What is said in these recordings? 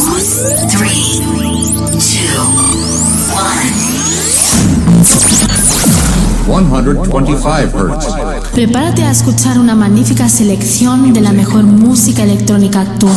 3, 2, 125 Hz. Prepárate a escuchar una magnífica selección de la mejor música electrónica actual.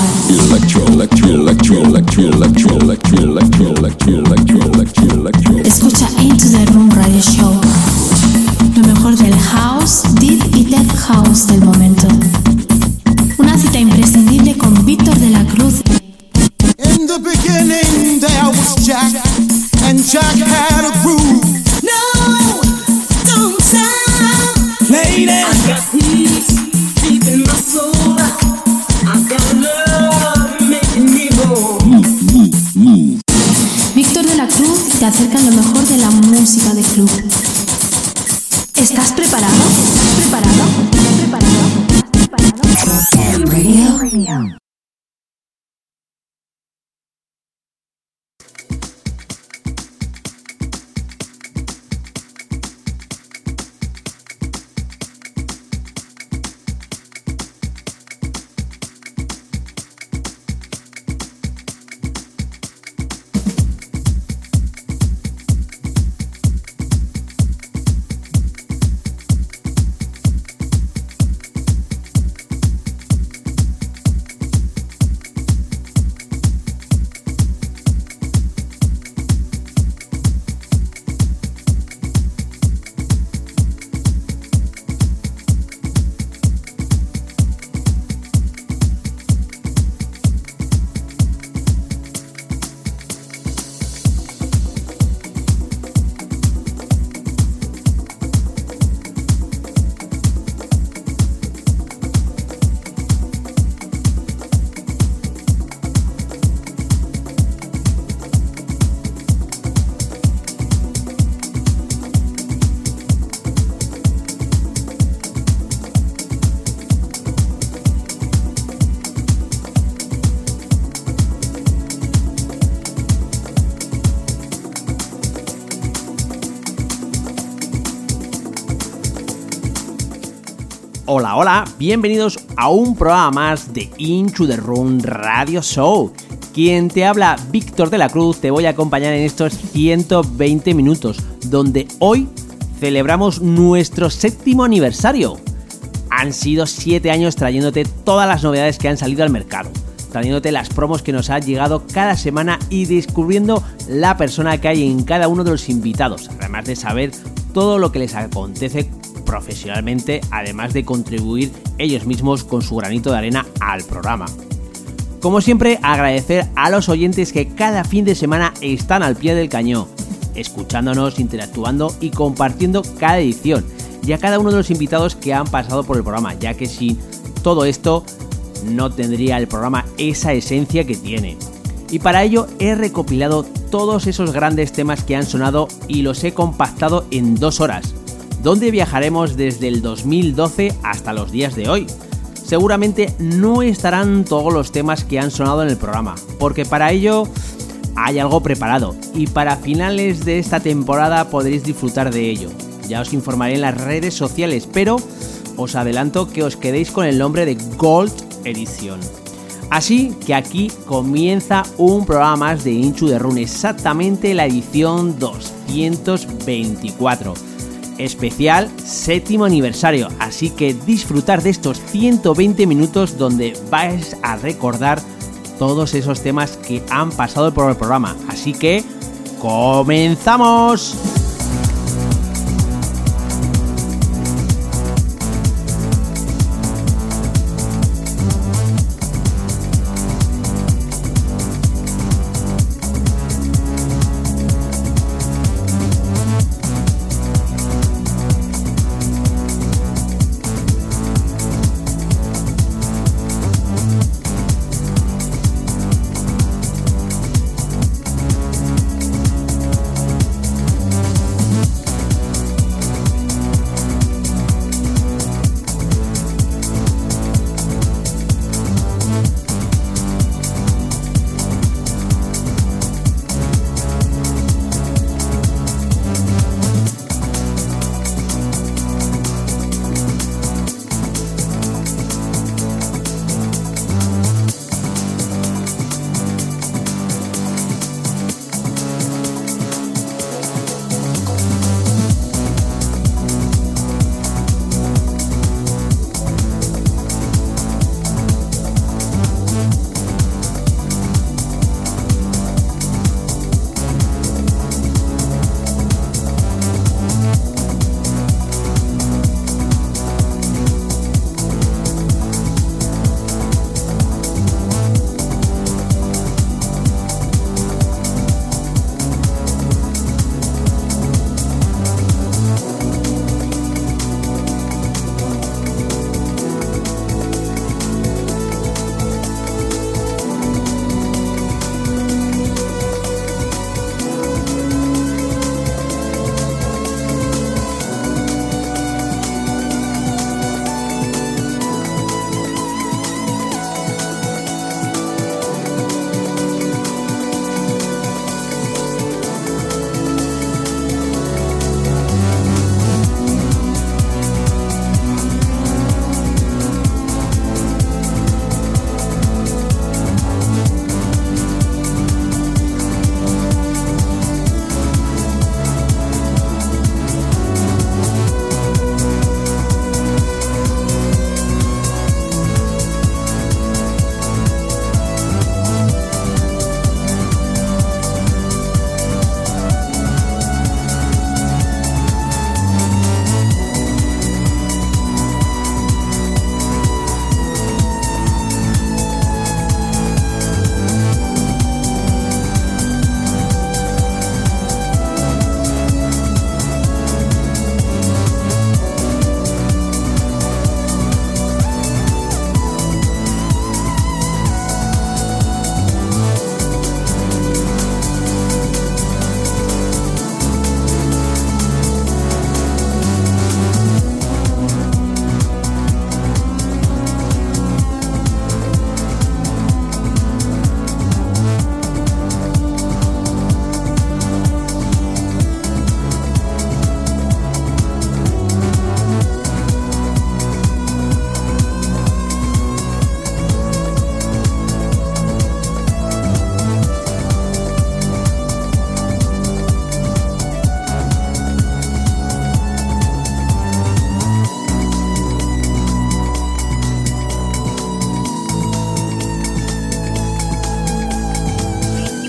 Escucha Into the Room Radio Show. Lo mejor del house, deep y tech house del momento. Una cita imprescindible con Víctor de la Cruz. In the beginning there was Jack, and Jack had a groove. No, don't stop. Lady, I got peace deep in my soul. I got love making me whole. Víctor de la Cruz te acerca lo mejor de la música de club. ¿Estás preparado? ¿Estás preparado? ¿Estás preparado? ¿Estás preparado? Radio. Hola, hola, bienvenidos a un programa más de Into the Room Radio Show. Quien te habla, Víctor de la Cruz, te voy a acompañar en estos 120 minutos, donde hoy celebramos nuestro 7º aniversario. Han sido 7 años trayéndote todas las novedades que han salido al mercado, trayéndote las promos que nos han llegado cada semana y descubriendo la persona que hay en cada uno de los invitados, además de saber todo lo que les acontece profesionalmente, además de contribuir ellos mismos con su granito de arena al programa. Como siempre, agradecer a los oyentes que cada fin de semana están al pie del cañón, escuchándonos, interactuando y compartiendo cada edición, y a cada uno de los invitados que han pasado por el programa, ya que sin todo esto no tendría el programa esa esencia que tiene. Y para ello he recopilado todos esos grandes temas que han sonado y los he compactado en 2 horas, donde viajaremos desde el 2012 hasta los días de hoy. Seguramente no estarán todos los temas que han sonado en el programa, porque para ello hay algo preparado y para finales de esta temporada podréis disfrutar de ello. Ya os informaré en las redes sociales, pero os adelanto que os quedéis con el nombre de Gold Edition. Así que aquí comienza un programa más de Into the Room, exactamente la edición 224. Especial 7º aniversario, así que disfrutar de estos 120 minutos donde vais a recordar todos esos temas que han pasado por el programa. Así que ¡comenzamos!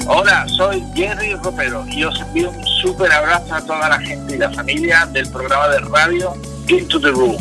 Hola, soy Jerry Ropero y os envío un súper abrazo a toda la gente y la familia del programa de radio Into the Room.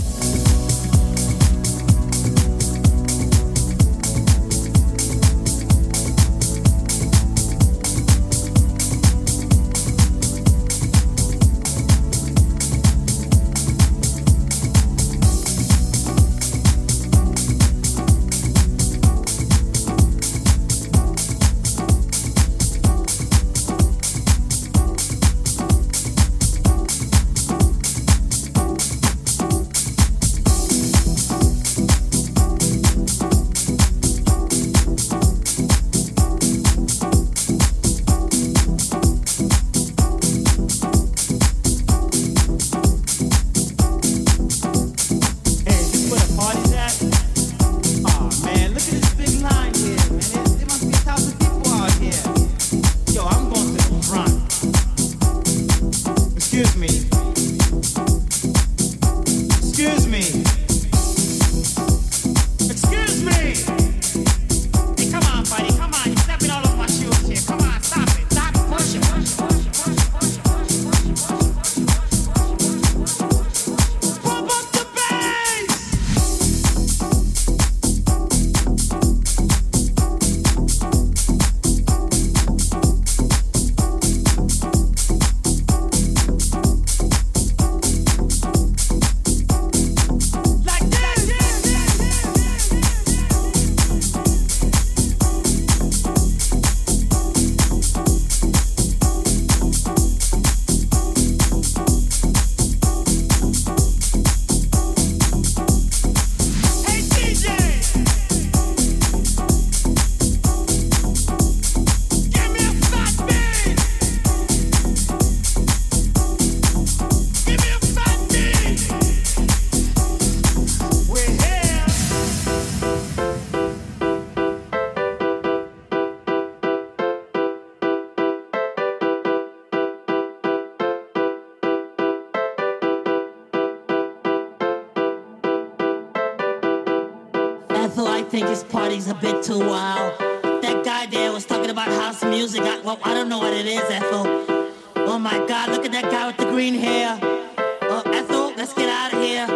Ethel, I think this party's a bit too wild. That guy there was talking about house music. I don't know what it is, Ethel. Oh my God, look at that guy with the green hair. Oh, Ethel, let's get out of here.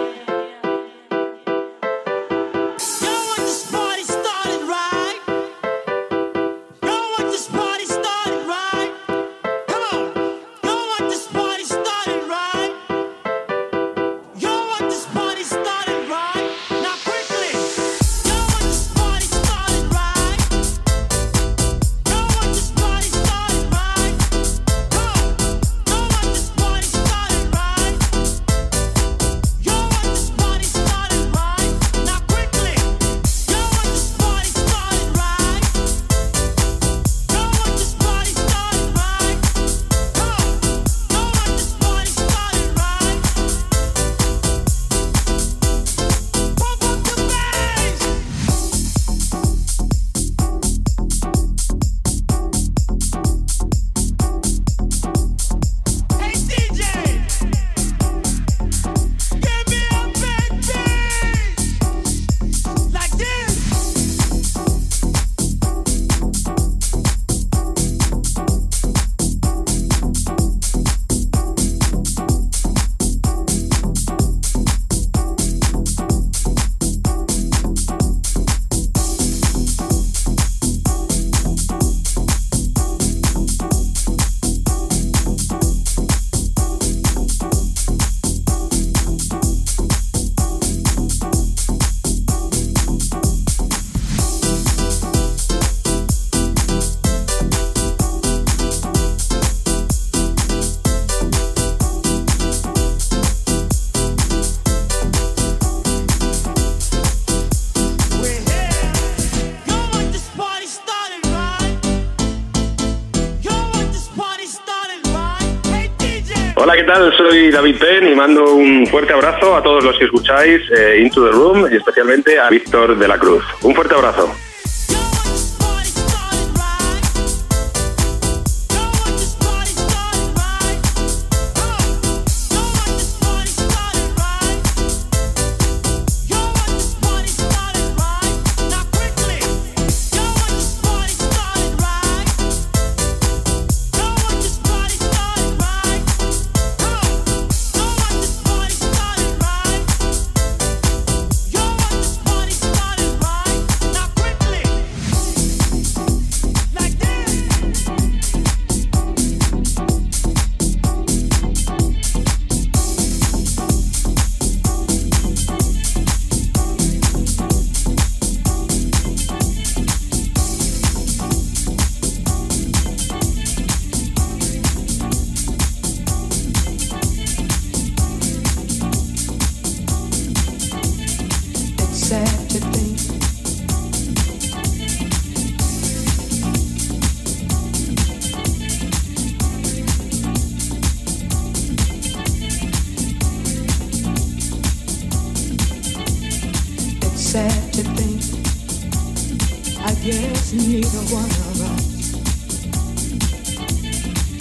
Hola, ¿qué tal? Soy David Penn y mando un fuerte abrazo a todos los que escucháis Into the Room y especialmente a Víctor de la Cruz. Un fuerte abrazo.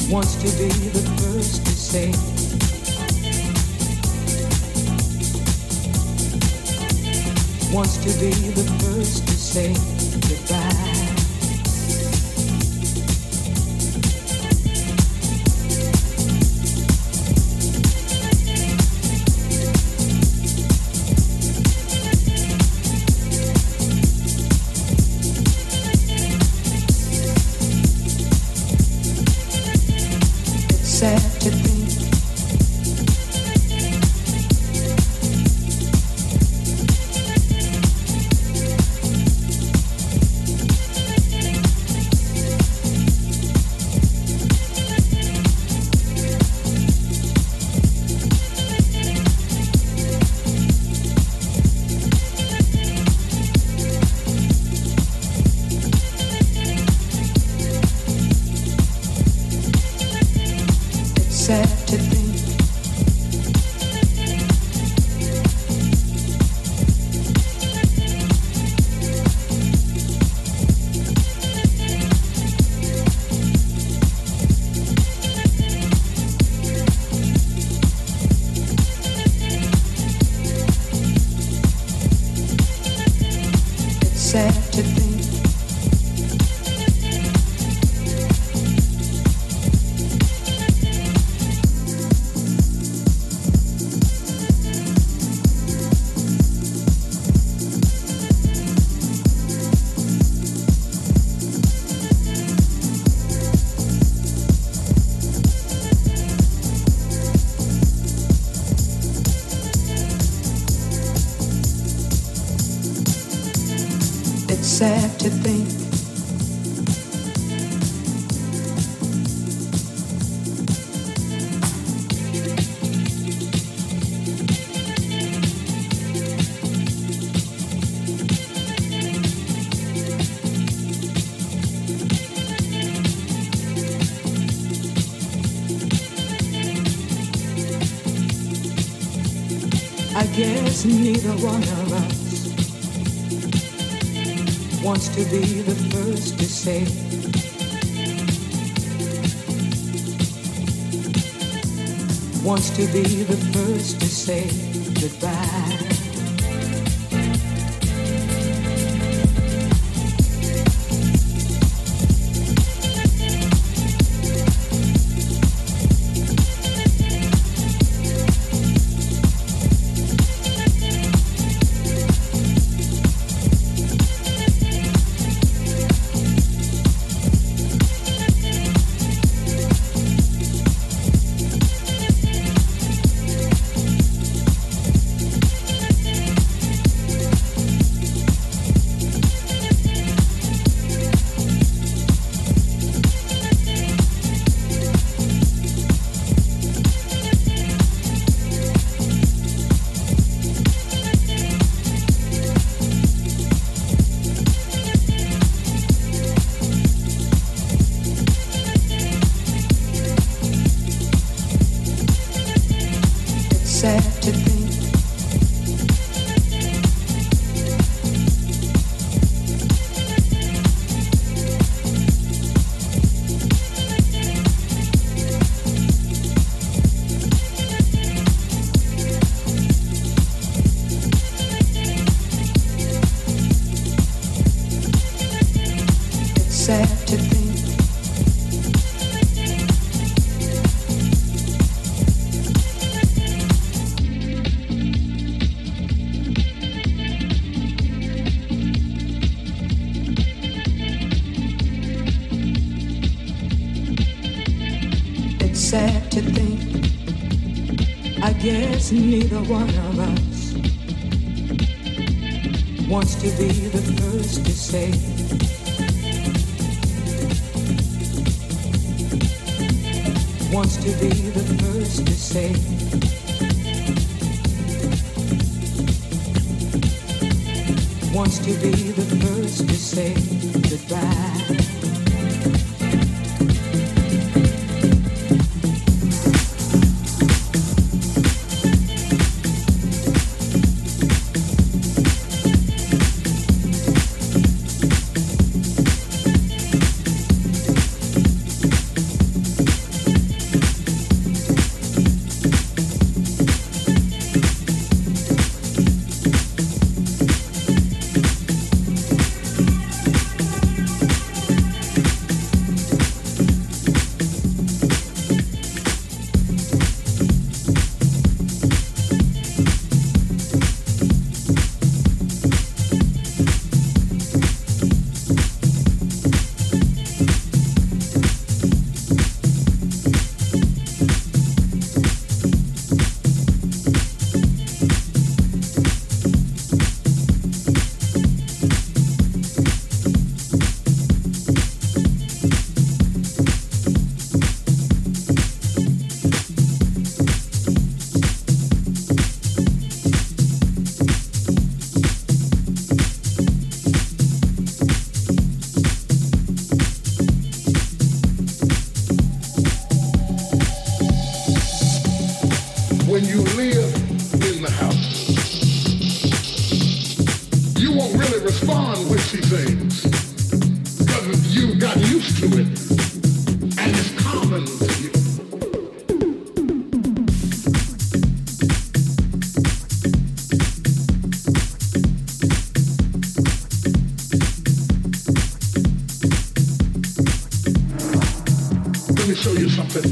wants to be the first to say wants to be the first to say goodbye. It's sad to think sad to think I guess neither one of us wants to be the first to say wants to be the first to say goodbye. Sad to think, I guess neither one of us wants to be the first to say wants to be the first to say wants to be the first to say goodbye. when you live in the house, you won't really respond when she sings, because you got used to it, and it's common to you. Let me show you something.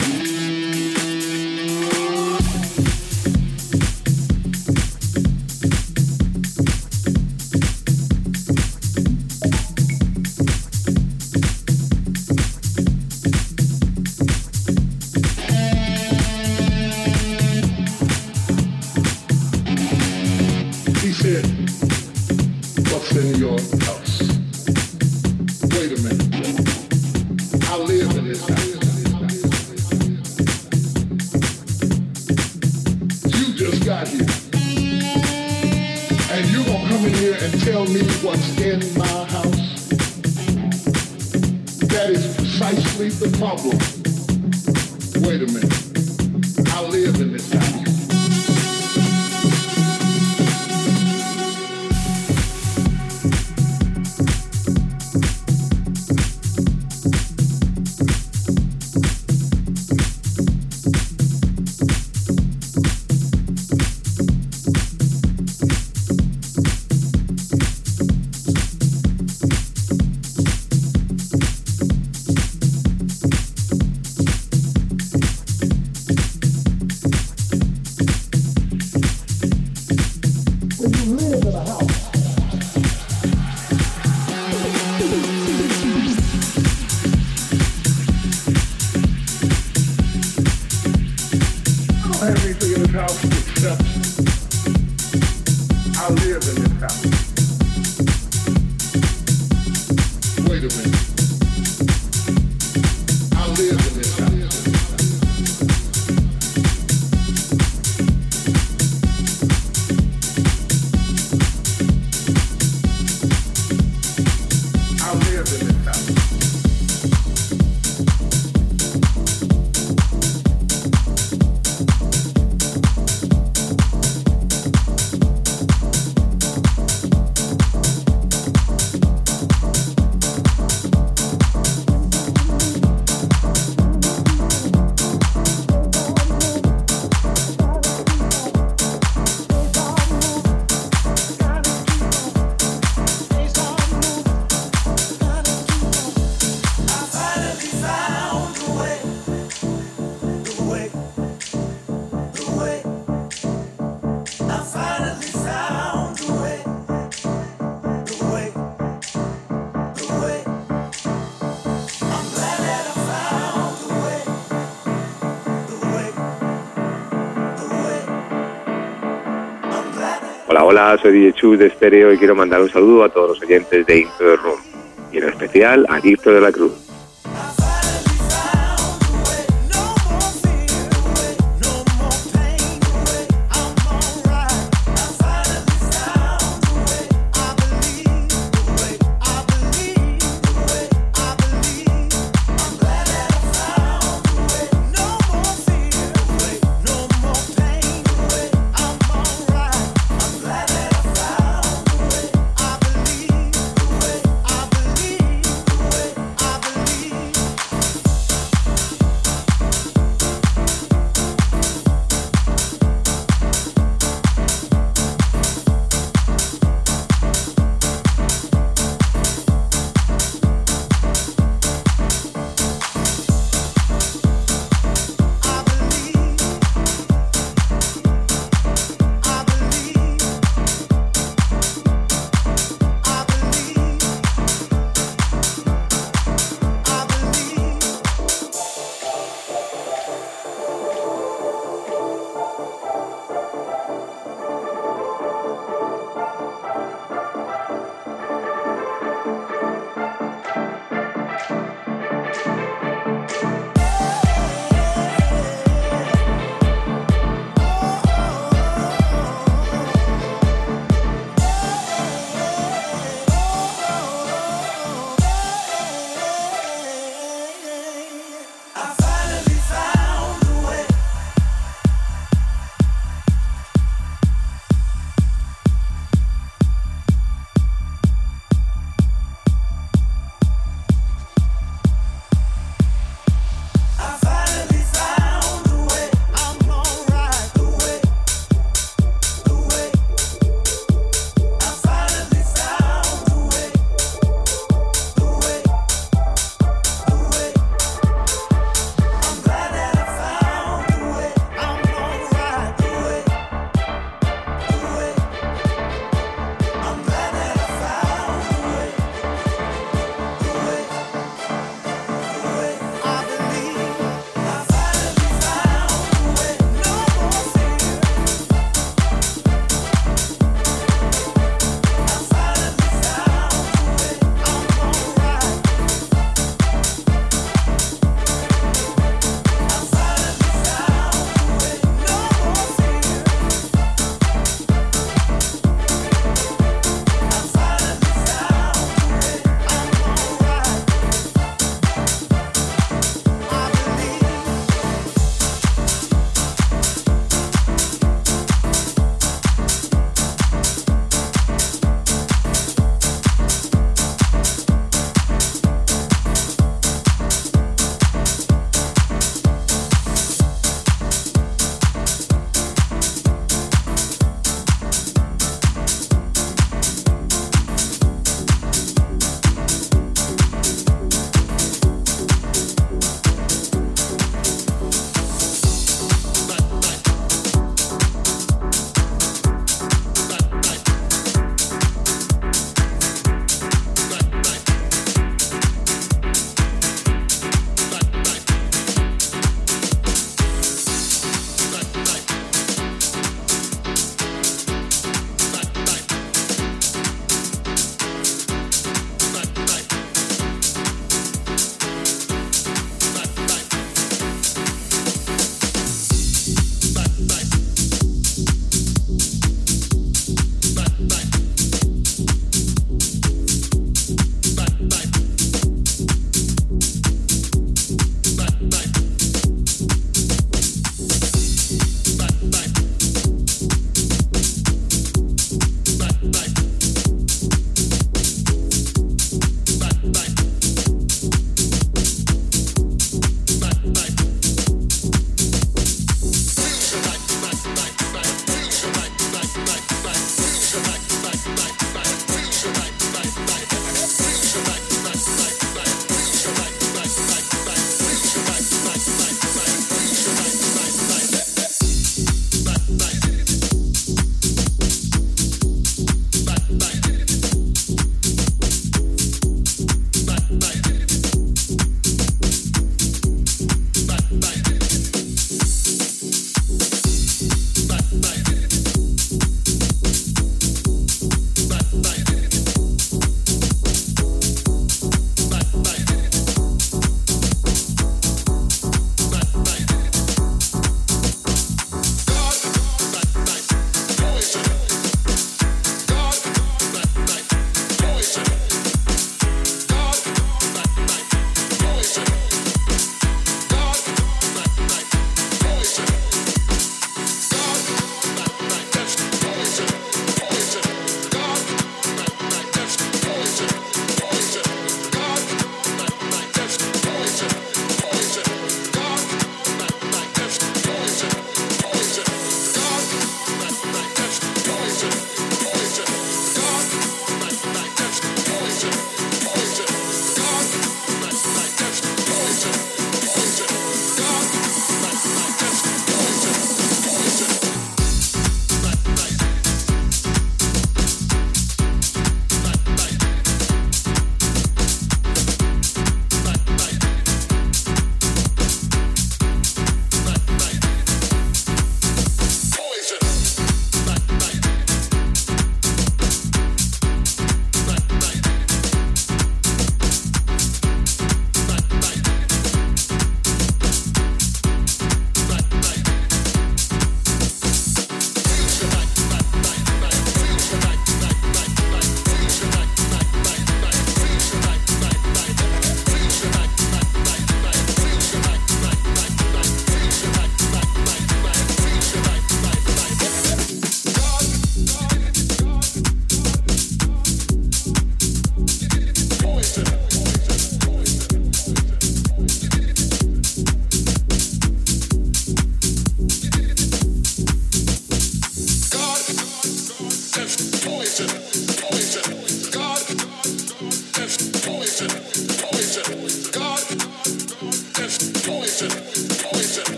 Hola, soy DJ Chu de Stereo y quiero mandar un saludo a todos los oyentes de Into the Room y en especial a Víctor de la Cruz.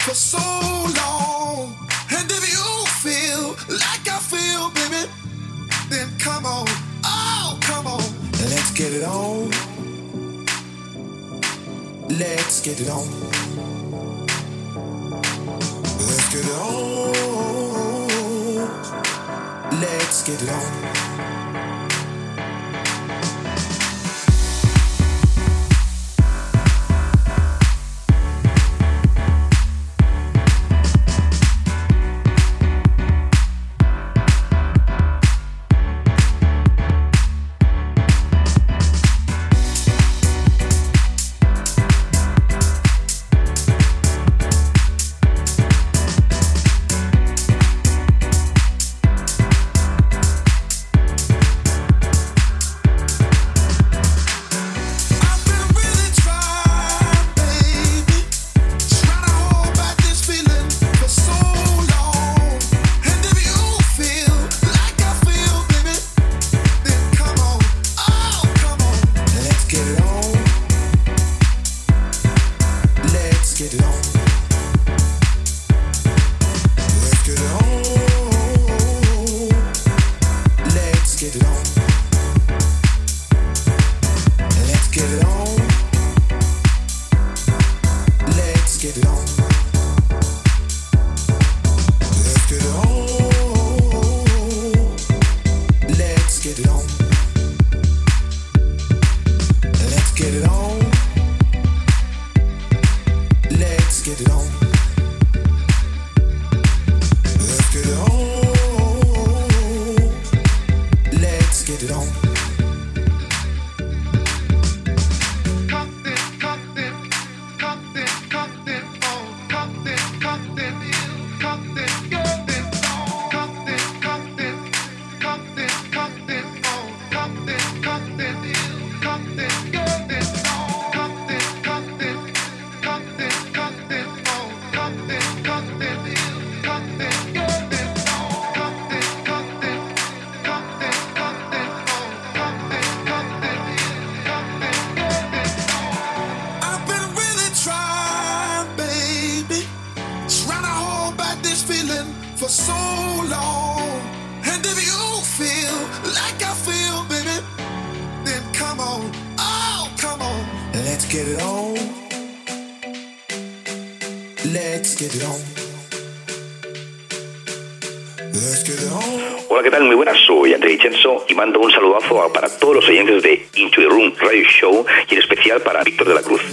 for so long. And if you feel like I feel, baby, then come on, oh, come on. Let's get it on. Let's get it on. Let's get it on. Let's get it on. Hola, ¿qué tal? Muy buenas, soy André Vincenzo y mando un saludazo para todos los oyentes de Into the Room Radio Show y en especial para Víctor de la Cruz.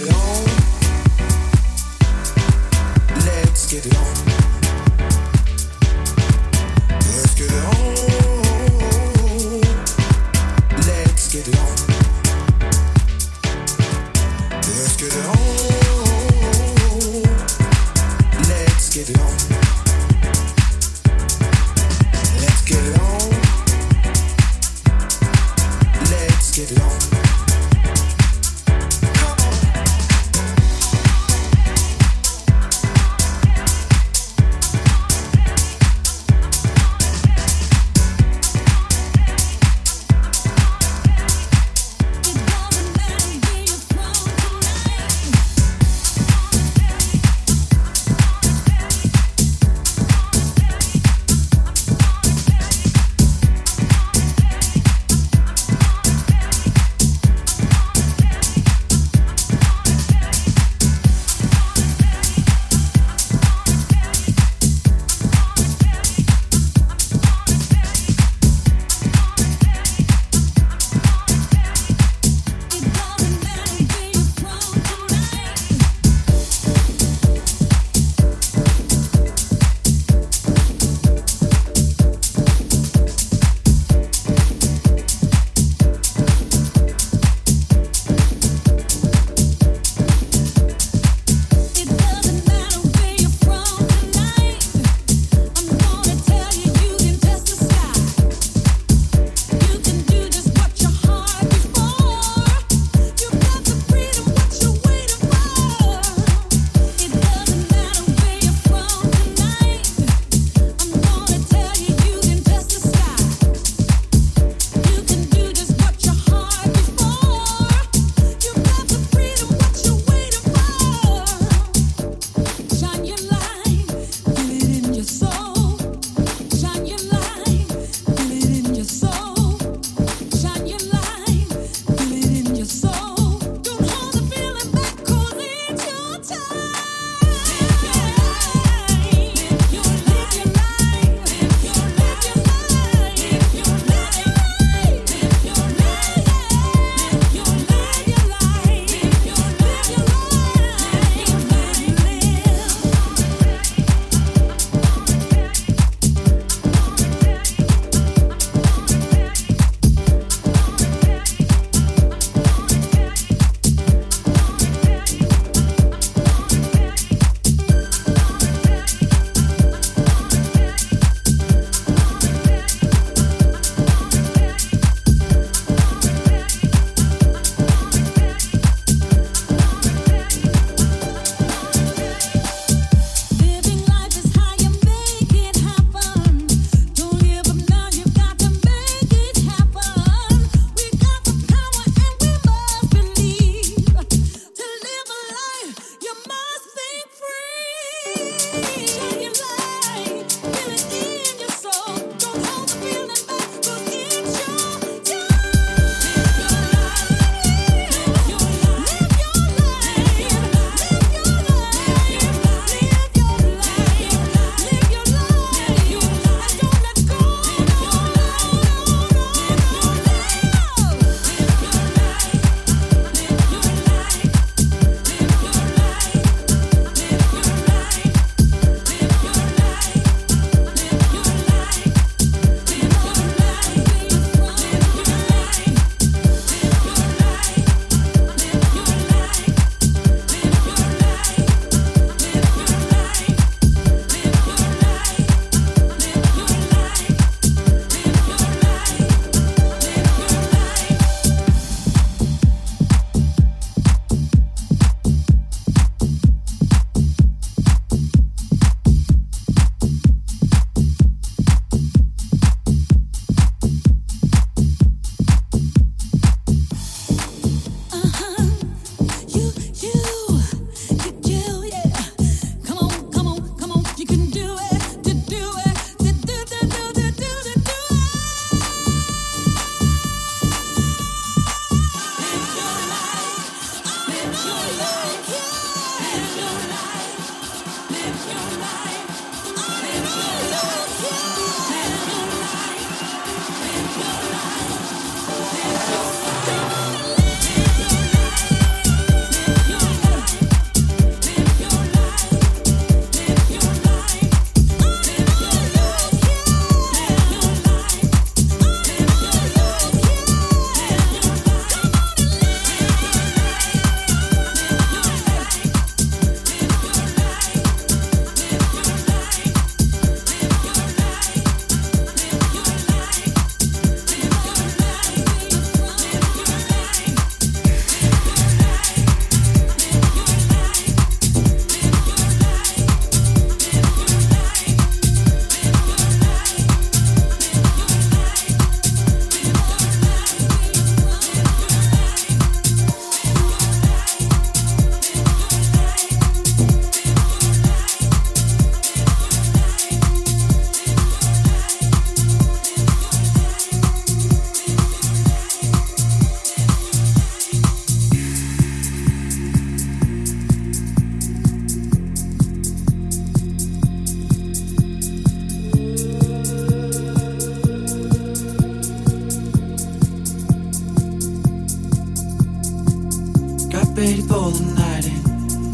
for the night in.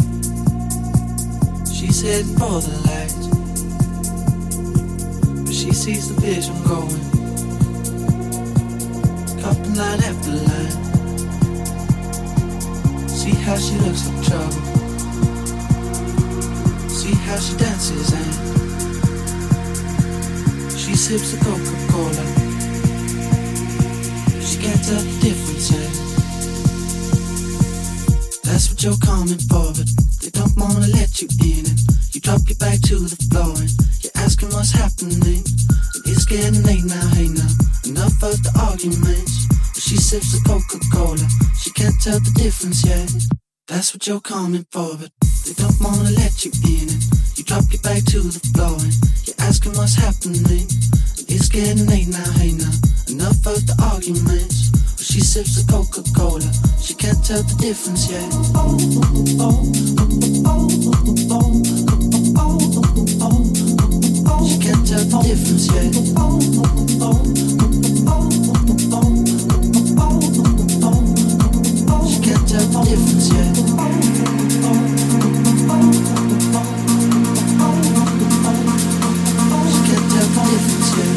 She's heading for the lights, but she sees the vision going, cupping line after line. See how she looks like trouble, see how she dances and she sips the Coca-Cola. She can't tell the difference, and that's what you're coming for, but they don't wanna let you in. And you drop your back to the floor and you're asking what's happening. And it's getting late now, hey now, enough of the arguments. But she sips the Coca-Cola, she can't tell the difference yet. That's what you're coming for, but they don't wanna let you in. And you drop your back to the floor and you're asking what's happening. And it's getting late now, hey now, enough of the arguments. But she sips the Coca-Cola, she can't tell the difference yet. She can't tell the difference yet. She can't tell the difference yet. She can't tell the difference yet.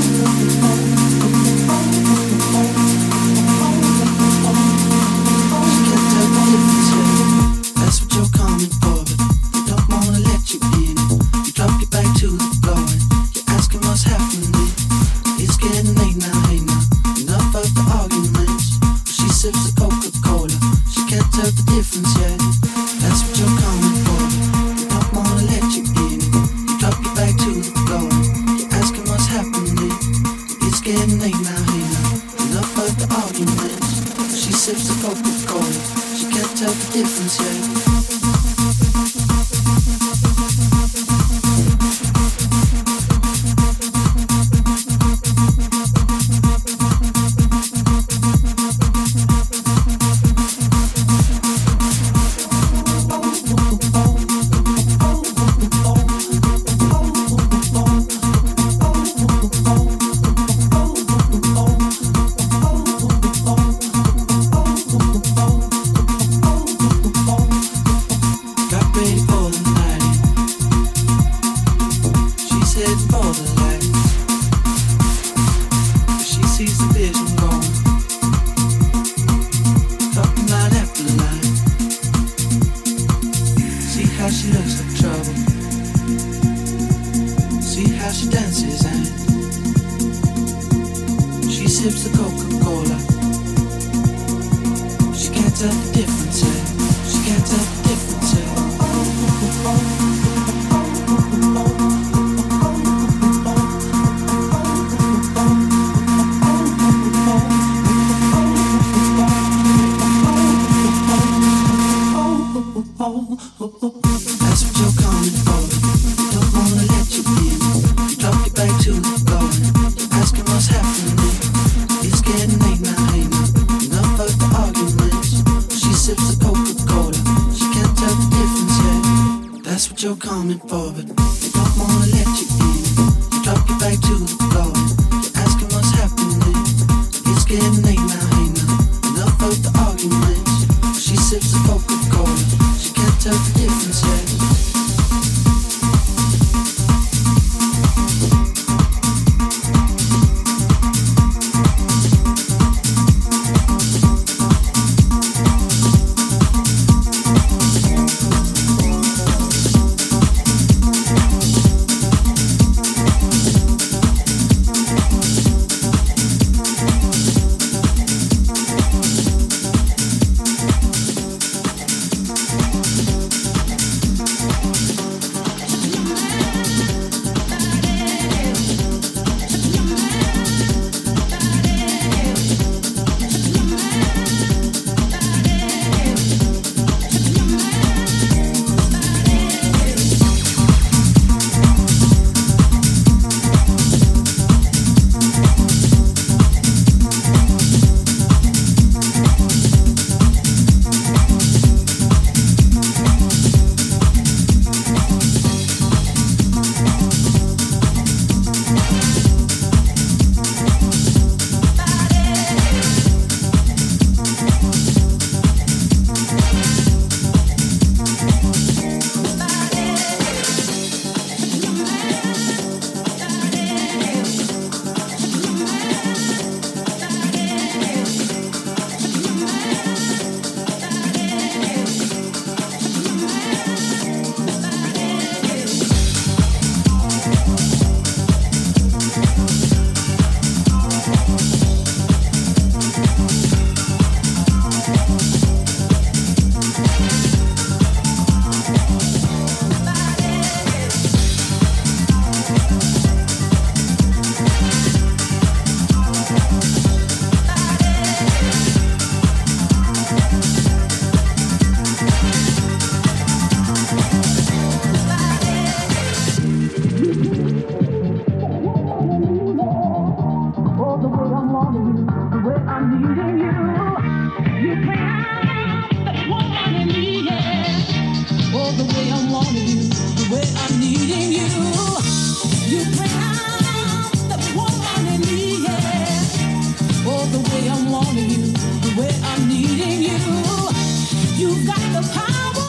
That's what you're coming for, but they don't wanna let you in. You drop your back to the floor and you're asking what's happening. It's getting late now, hey now, enough of the arguments. But she sips the Coca-Cola, she can't tell the difference yet. That's what you're coming for, but they don't wanna let you in. You drop your back to the floor and you're asking what's happening. It's getting late now, hey now, enough of the arguments. But she sips the Coca-Cola, she can't tell the difference yet.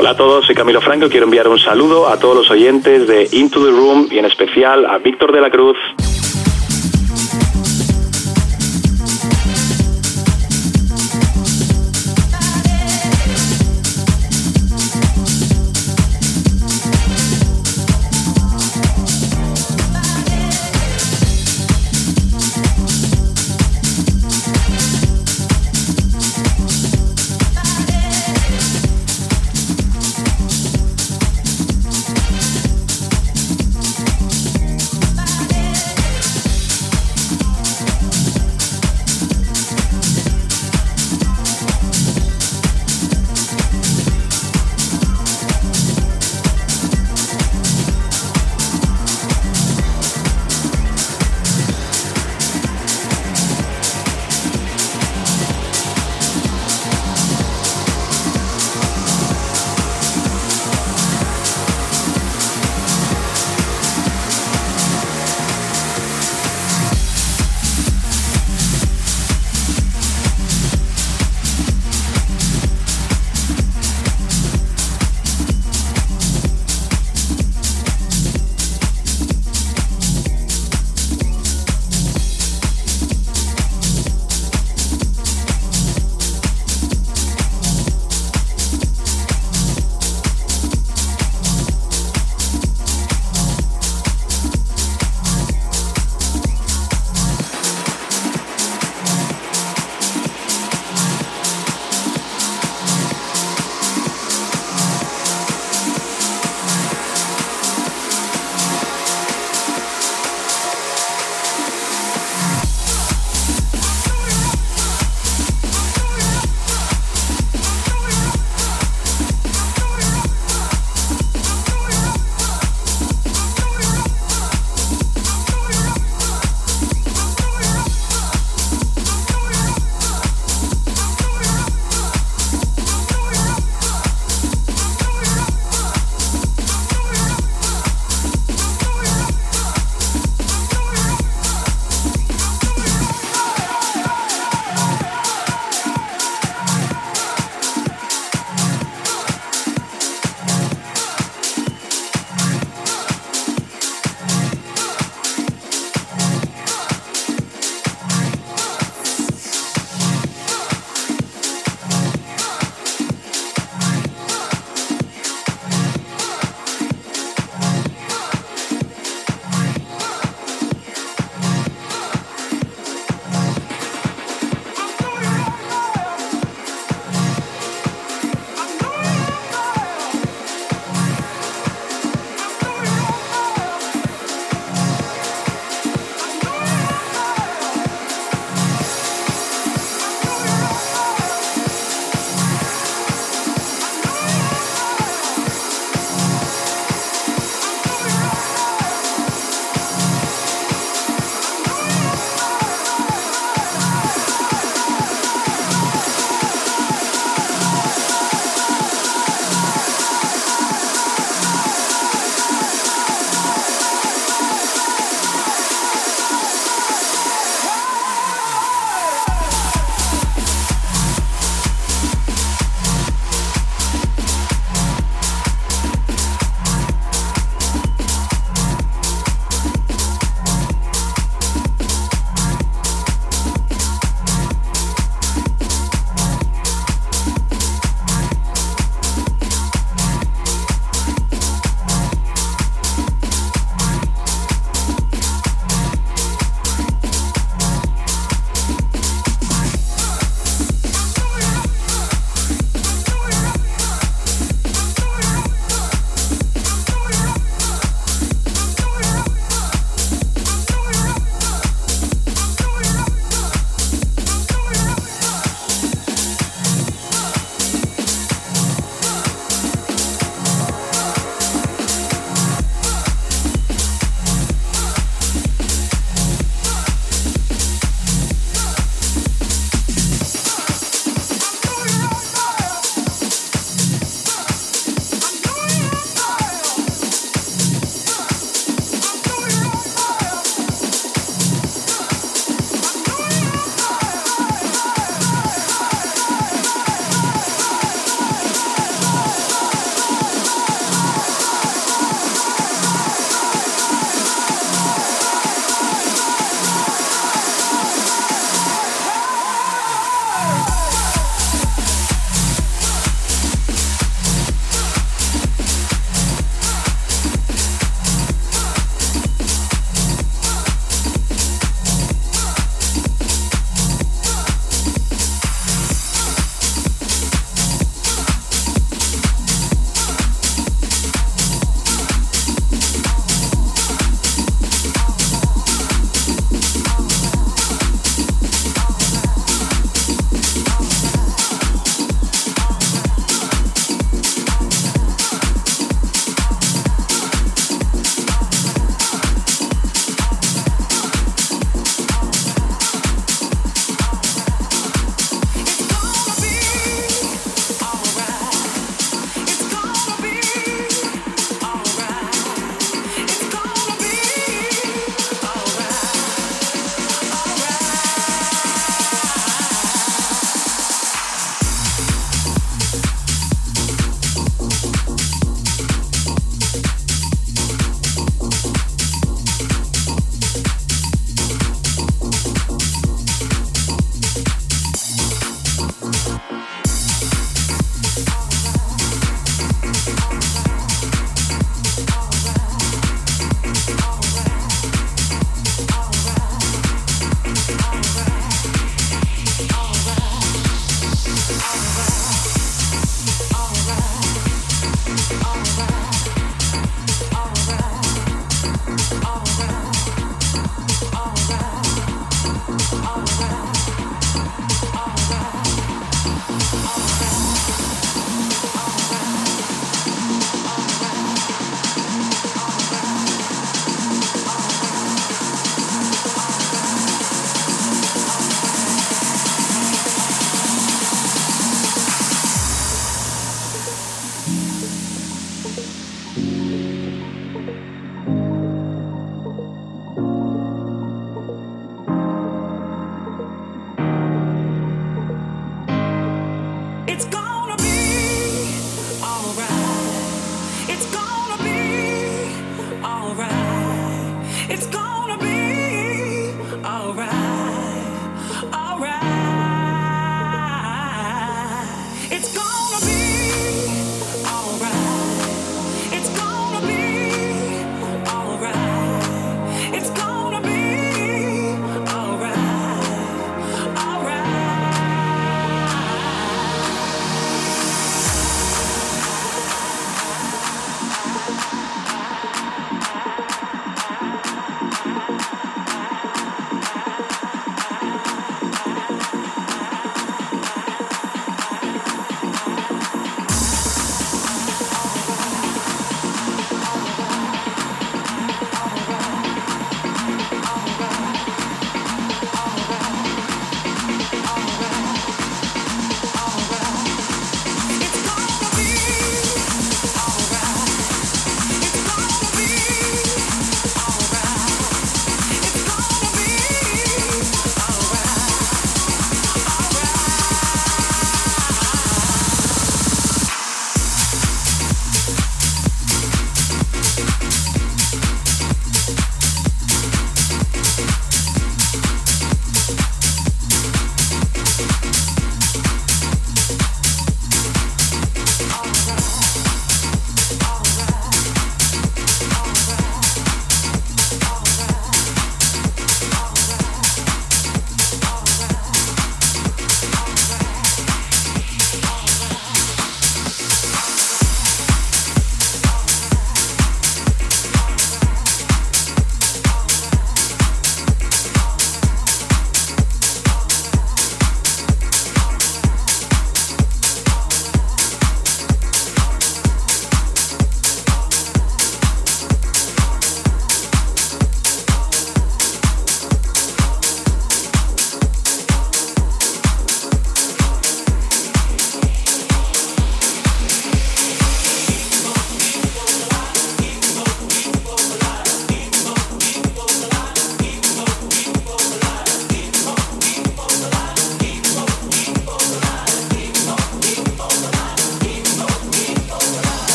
Hola a todos, soy Camilo Franco y quiero enviar un saludo a todos los oyentes de Into the Room y en especial a Víctor de la Cruz.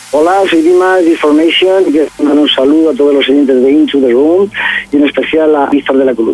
Hola, soy Dimas de Information y quiero mandar un saludo a todos los oyentes de Into the Room y en especial a Víctor de la Cruz.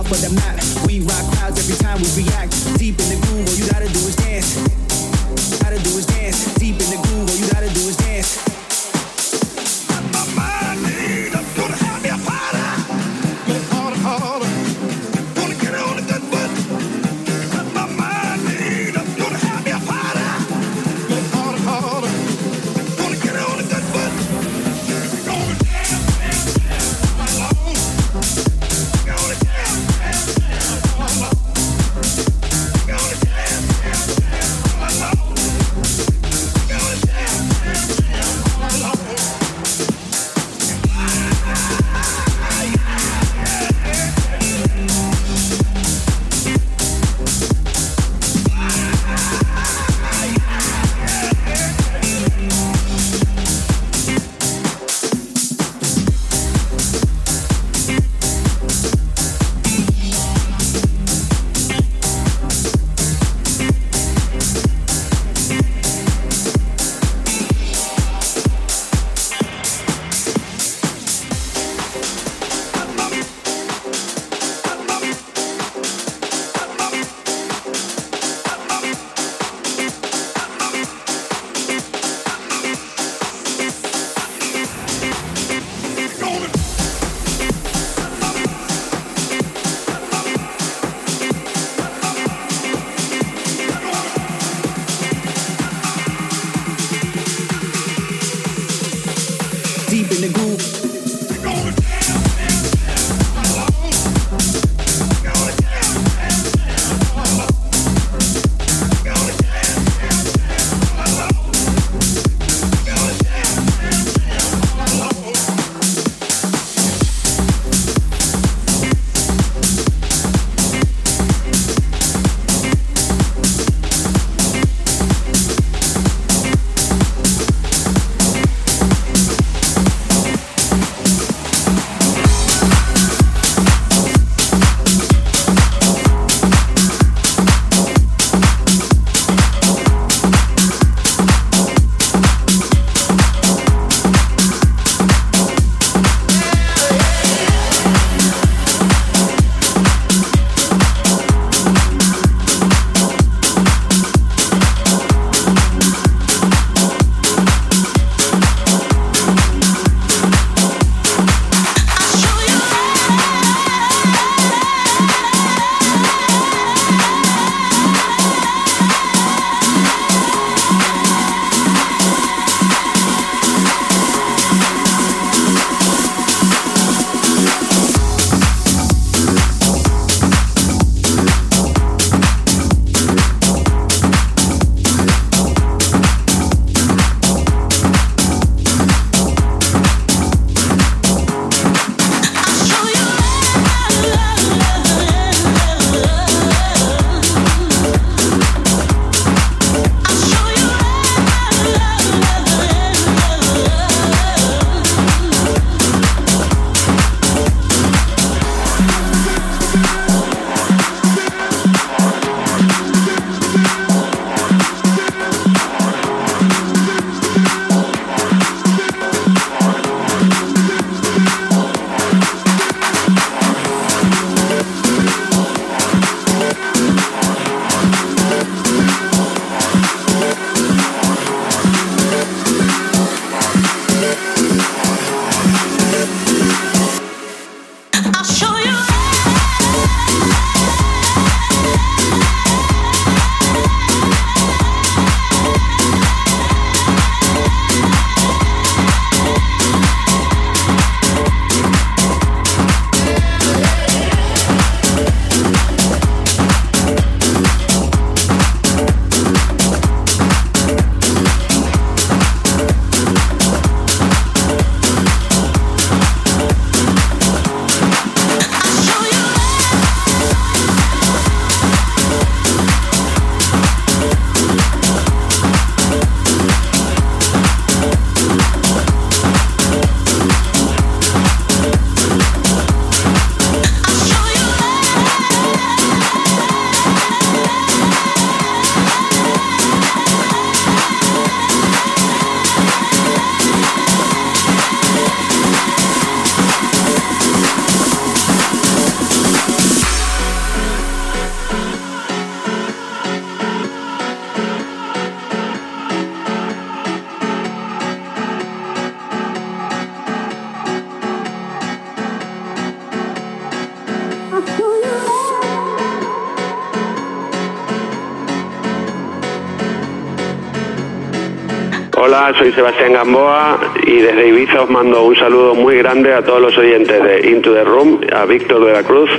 off of the map. We rock crowds every time we react. Deep in the groove, all you gotta do is dance. Gotta do is dance. Deep in the groove, all you gotta do is dance. My mind need, I'm gonna have me a party. Get harder, harder. Wanna get on the good foot. My mind need, I'm gonna have me a party. Get harder, harder. Wanna get on the good foot. Gonna dance, dance, dance all alone. Gonna dance, dance, dance all alone. Gonna Hola, soy Sebastián Gamboa y desde Ibiza os mando un saludo muy grande a todos los oyentes de Into the Room, a Víctor de la Cruz.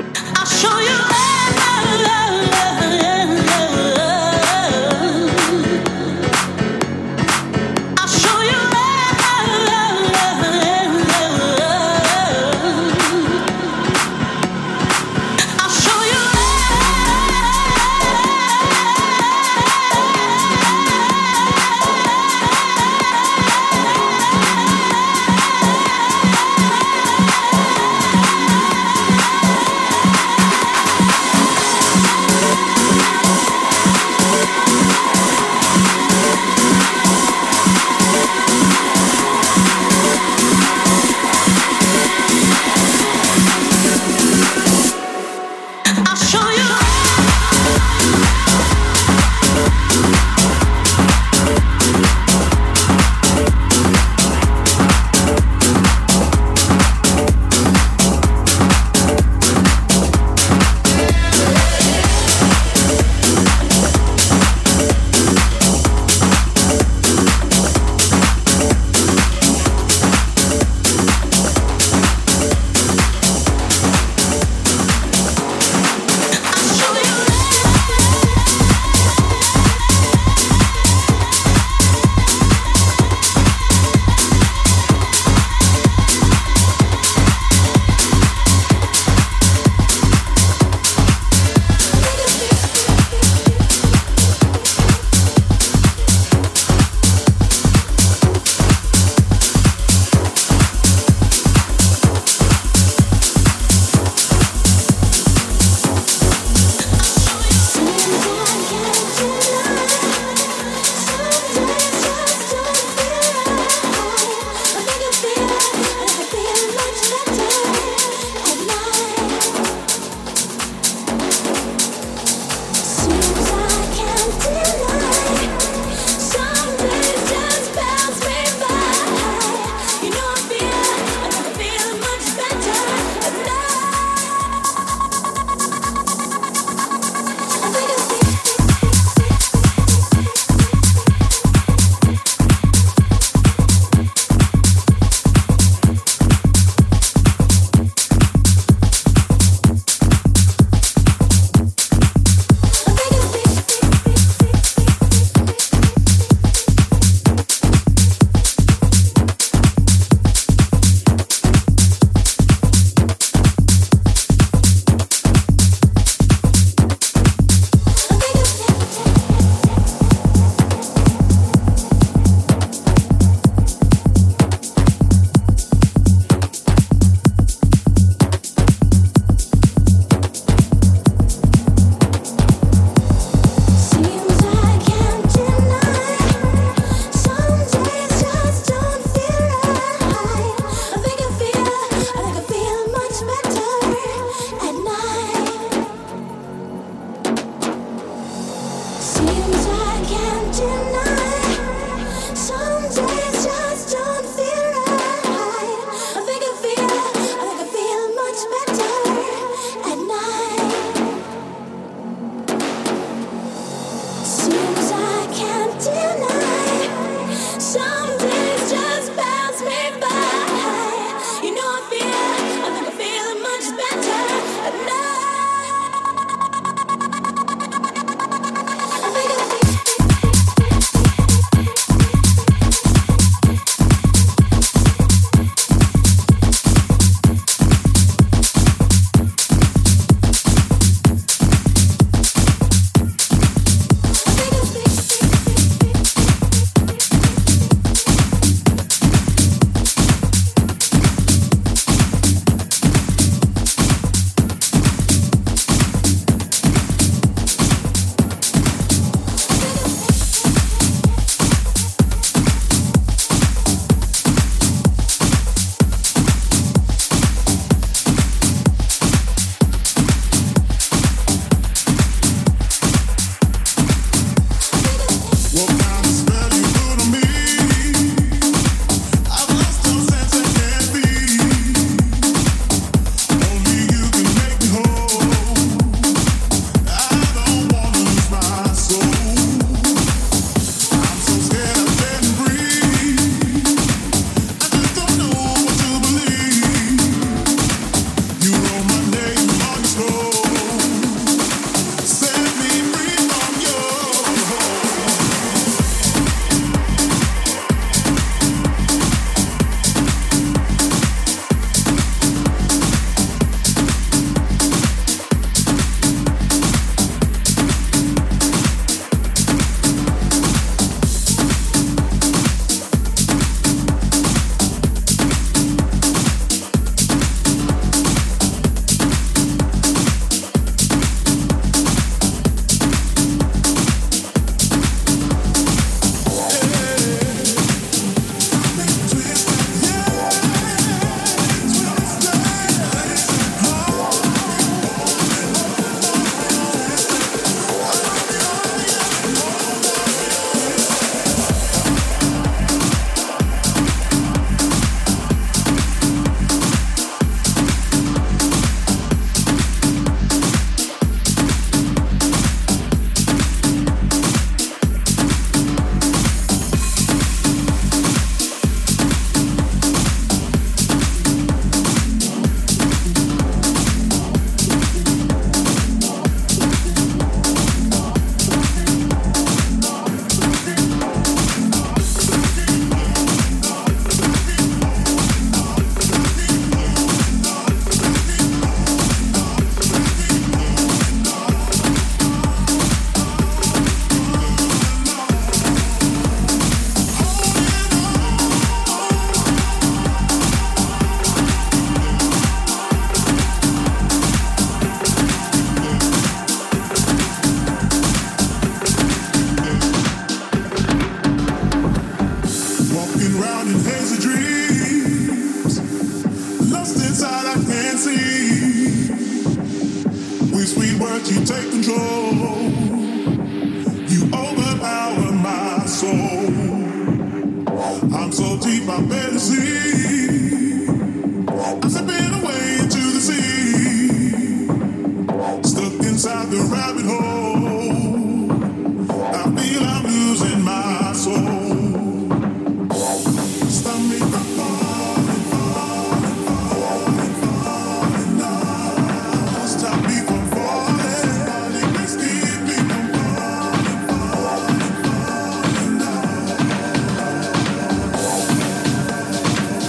deep, I better see. I'm slipping away into the sea, stuck inside the rabbit hole. I feel I'm losing my soul. Stop me from falling, falling, falling, falling now. Stop me from falling, falling, please keep me from falling, falling, falling now.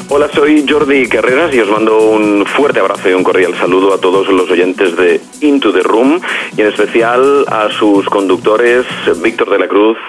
Hola, soy Jordi Carreras y os mando un fuerte abrazo y un cordial saludo a todos los oyentes de Into the Room y en especial a sus conductores Víctor de la Cruz.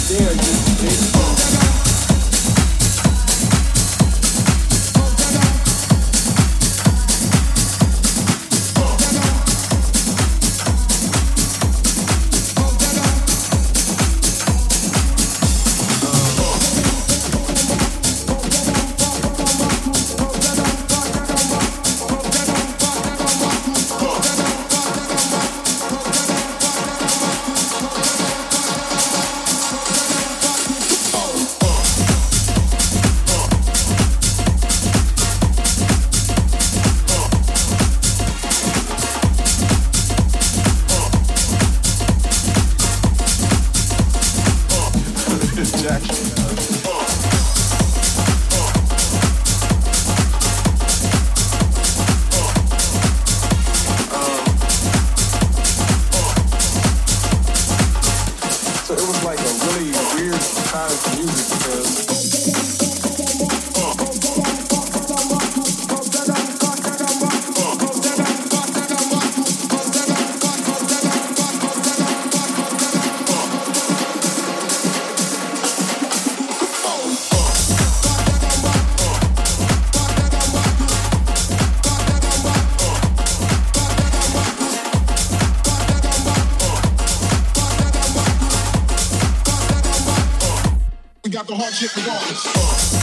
The hard shit regardless.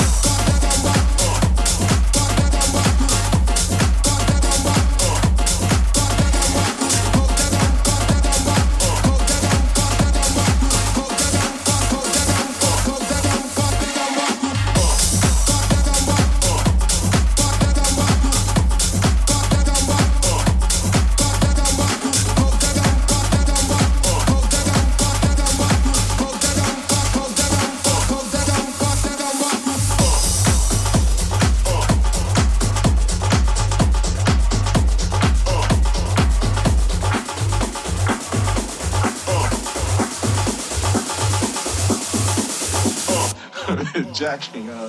Jacking up.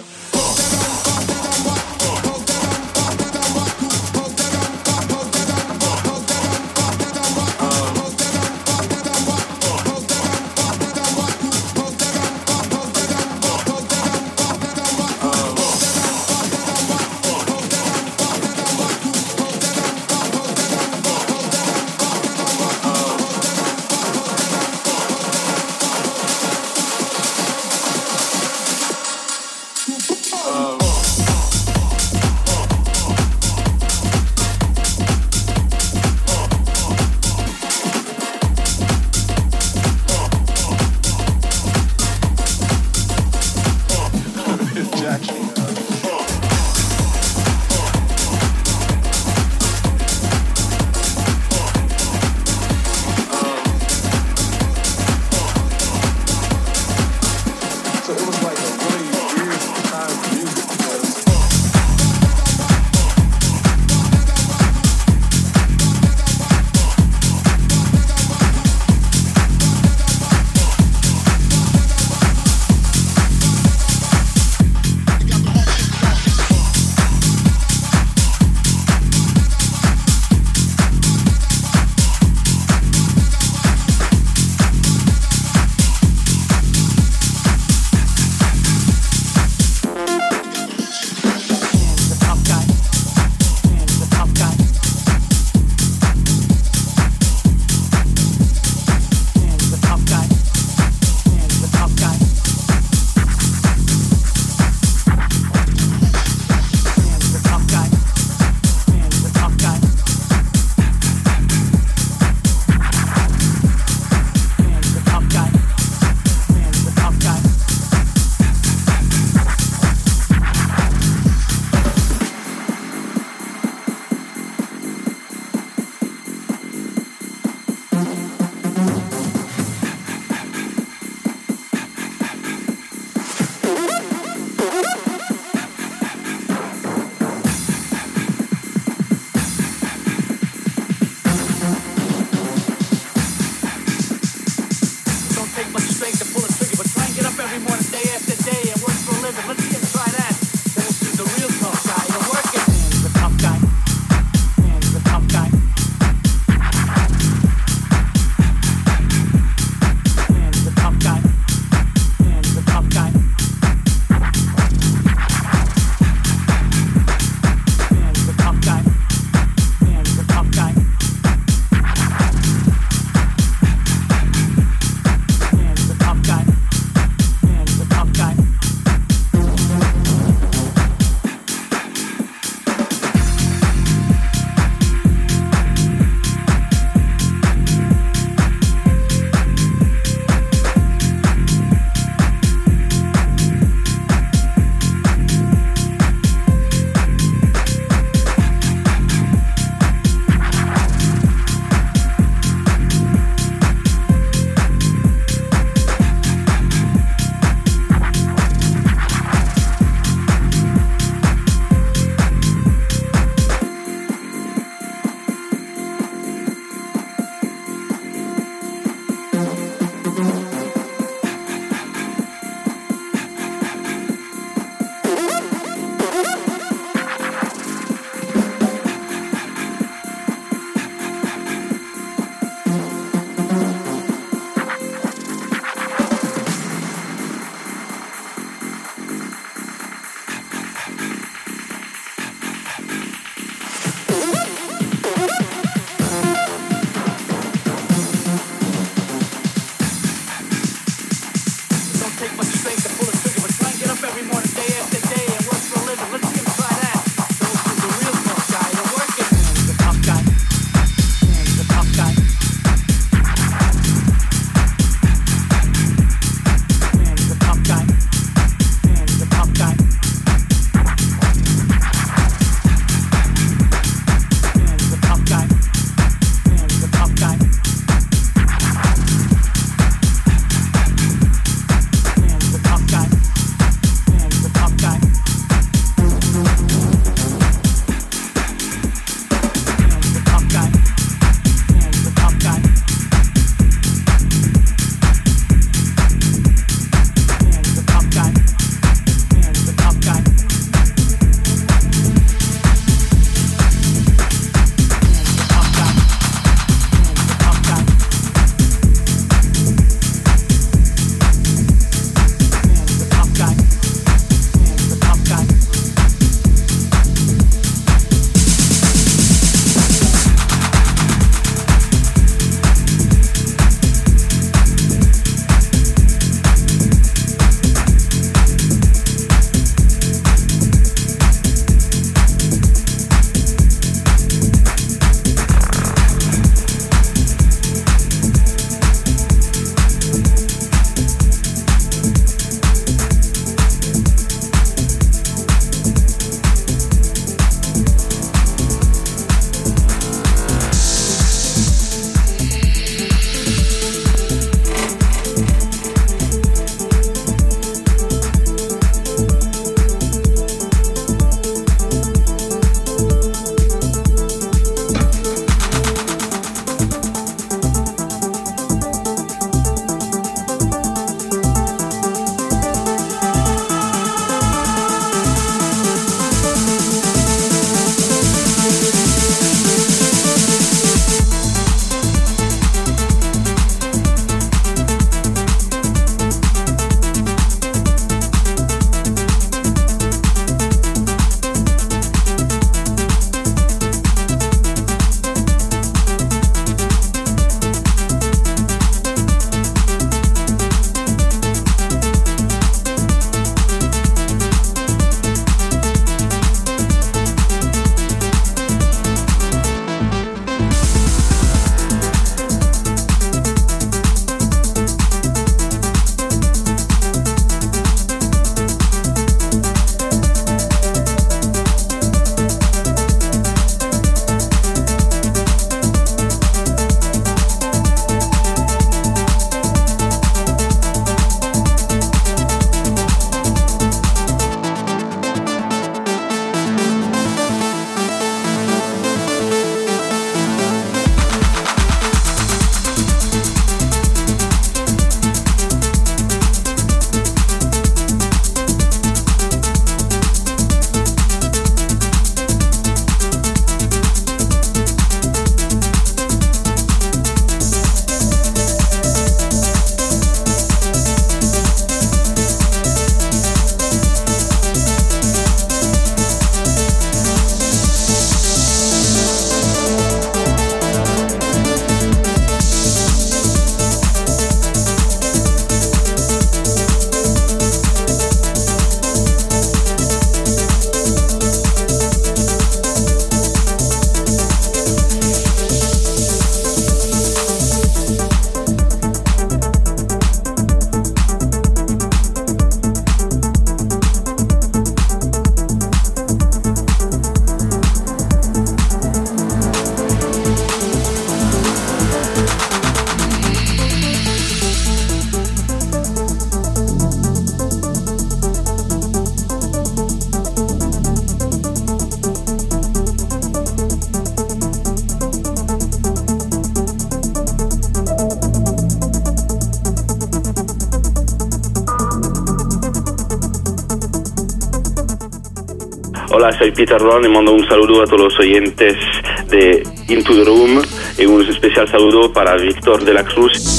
Hola, soy Peter Ron y mando un saludo a todos los oyentes de Into the Room y un especial saludo para Víctor de la Cruz.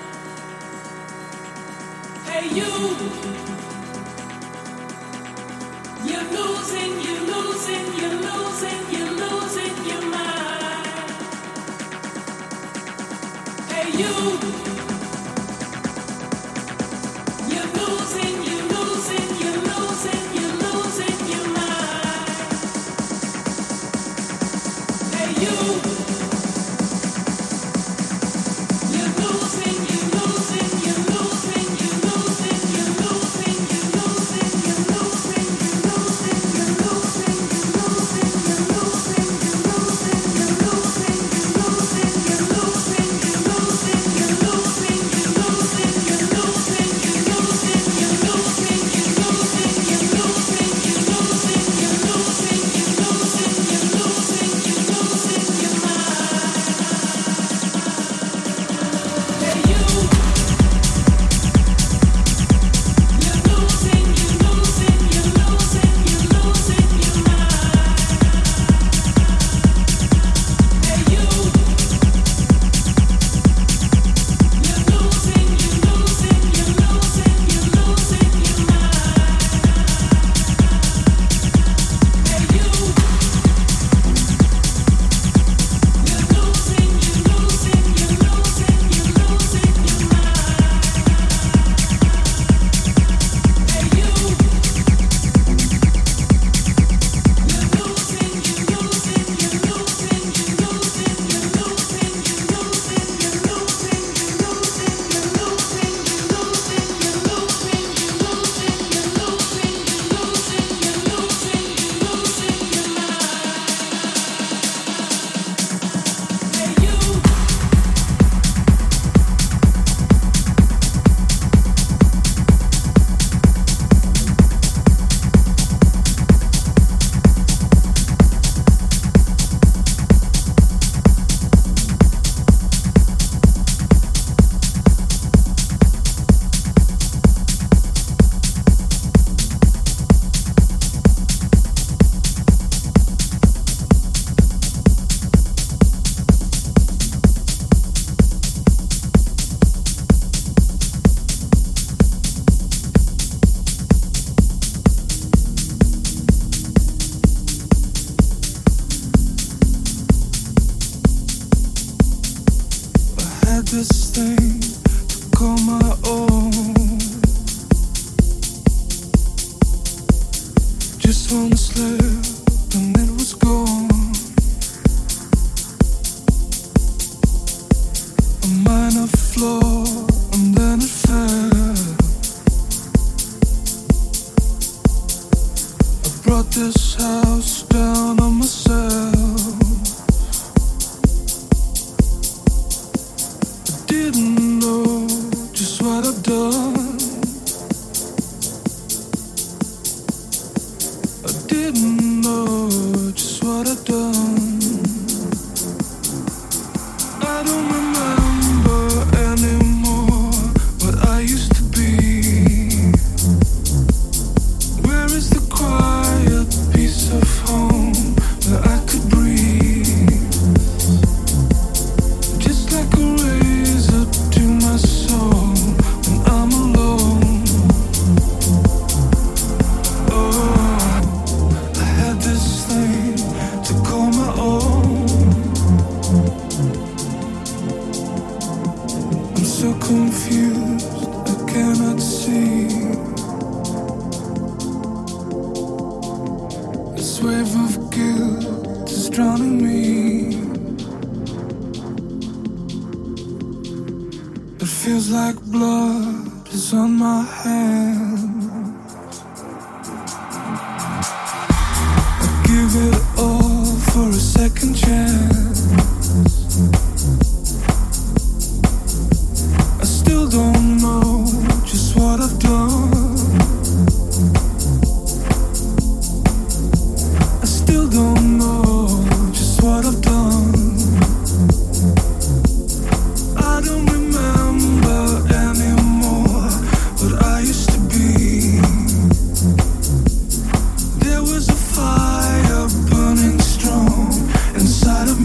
You're this thing to call my own. Just one slip and it was gone. A minor flaw and then it fell. I brought this house down on myself. Didn't know just what I've done. I didn't know just what I've done. I don't remember anymore what I used to be. Where is the quiet piece of home where I could breathe? Just like a razor to my soul when I'm alone. Oh, I had this thing to call my own. I'm so confused, I cannot see. This wave of guilt is drowning me. It feels like blood is on my hands. I give it all for a second chance. I still don't know just what I've done. I still don't know just what I've done. I don't remember anymore what I used to be. There was a fire burning strong inside of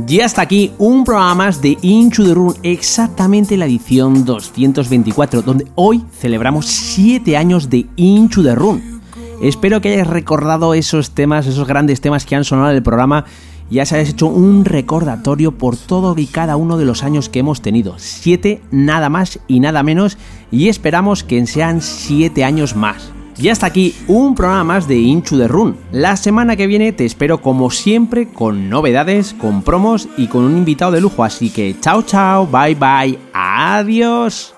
Y hasta aquí un programa más de Into the Room, exactamente la edición 224, donde hoy celebramos 7 años de Into the Room. Espero que hayáis recordado esos temas, esos grandes temas que han sonado en el programa, y ya se hayáis hecho un recordatorio por todo y cada uno de los años que hemos tenido. 7 nada más y nada menos, y esperamos que sean 7 años más. Y hasta aquí un programa más de Into the Room. La semana que viene te espero como siempre con novedades, con promos y con un invitado de lujo. Así que chao chao, bye bye, adiós.